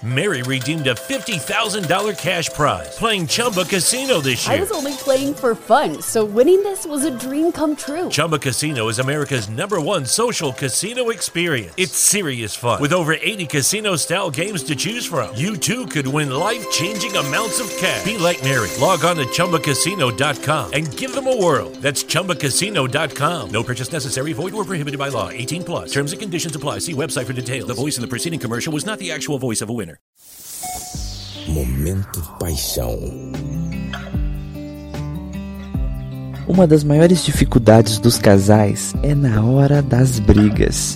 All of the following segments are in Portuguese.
Mary redeemed a $50,000 cash prize playing Chumba Casino this year. I was only playing for fun, so winning this was a dream come true. Chumba Casino is America's #1 social casino experience. It's serious fun. With over 80 casino-style games to choose from, you too could win life-changing amounts of cash. Be like Mary. Log on to ChumbaCasino.com and give them a whirl. That's ChumbaCasino.com. No purchase necessary. Void where prohibited by law. 18+. Terms and conditions apply. See website for details. The voice in the preceding commercial was not the actual voice of a winner. Momento paixão. Uma das maiores dificuldades dos casais é na hora das brigas.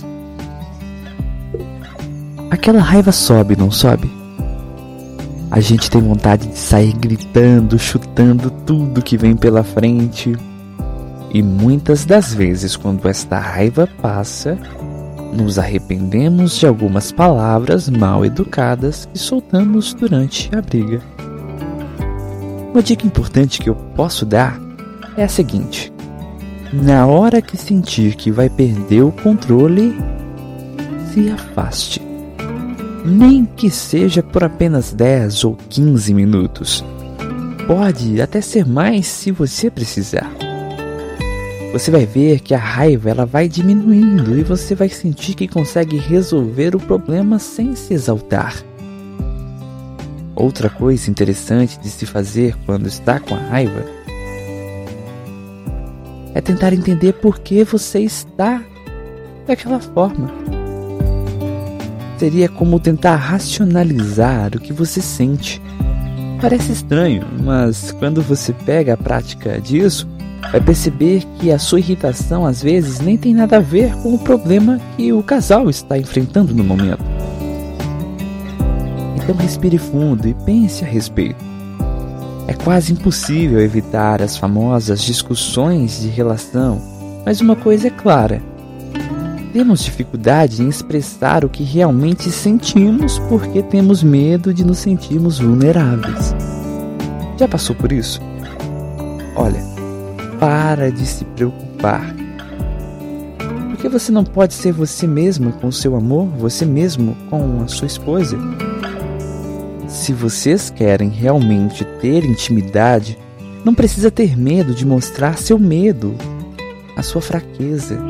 Aquela raiva sobe, não sobe? A gente tem vontade de sair gritando, chutando tudo que vem pela frente. E muitas das vezes, quando esta raiva passa, nos arrependemos de algumas palavras mal educadas que soltamos durante a briga. Uma dica importante que eu posso dar é a seguinte: na hora que sentir que vai perder o controle, se afaste. Nem que seja por apenas 10 ou 15 minutos. Pode até ser mais se você precisar. Você vai ver que a raiva ela vai diminuindo e você vai sentir que consegue resolver o problema sem se exaltar. Outra coisa interessante de se fazer quando está com a raiva é tentar entender por que você está daquela forma. Seria como tentar racionalizar o que você sente. Parece estranho, mas quando você pega a prática disso, vai perceber que a sua irritação às vezes nem tem nada a ver com o problema que o casal está enfrentando no momento. Então respire fundo e pense a respeito. É quase impossível evitar as famosas discussões de relação, mas uma coisa é clara: temos dificuldade em expressar o que realmente sentimos porque temos medo de nos sentirmos vulneráveis. Já passou por isso? Olha, para de se preocupar. Porque você não pode ser você mesma com o seu amor, você mesmo com a sua esposa? Se vocês querem realmente ter intimidade, não precisa ter medo de mostrar seu medo, a sua fraqueza.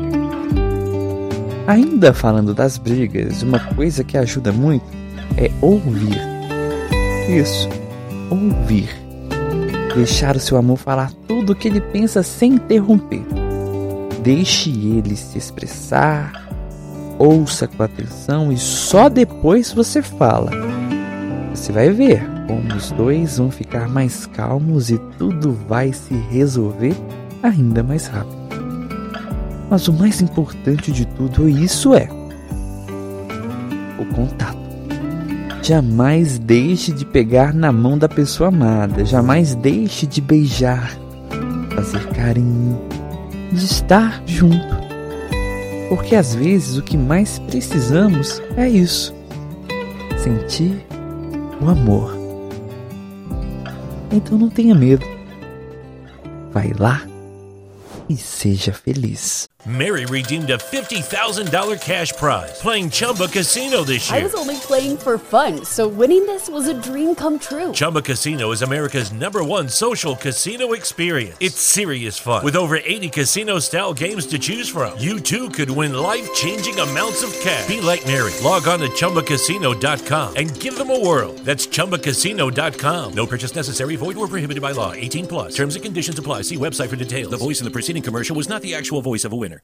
Ainda falando das brigas, uma coisa que ajuda muito é ouvir. Isso, ouvir. Deixar o seu amor falar tudo o que ele pensa sem interromper. Deixe ele se expressar, ouça com atenção e só depois você fala. Você vai ver como os dois vão ficar mais calmos e tudo vai se resolver ainda mais rápido. Mas o mais importante de tudo isso é o contato. Jamais deixe de pegar na mão da pessoa amada. Jamais deixe de beijar, fazer carinho, de estar junto. Porque às vezes o que mais precisamos é isso: sentir o amor. Então não tenha medo. Vai lá e seja feliz. Mary redeemed a $50,000 cash prize playing Chumba Casino this year. I was only playing for fun, so winning this was a dream come true. Chumba Casino is America's #1 social casino experience. It's serious fun. With over 80 casino-style games to choose from, you too could win life-changing amounts of cash. Be like Mary. Log on to ChumbaCasino.com and give them a whirl. That's ChumbaCasino.com. No purchase necessary. Void where prohibited by law. 18+. Terms and conditions apply. See website for details. The voice in the preceding commercial was not the actual voice of a winner.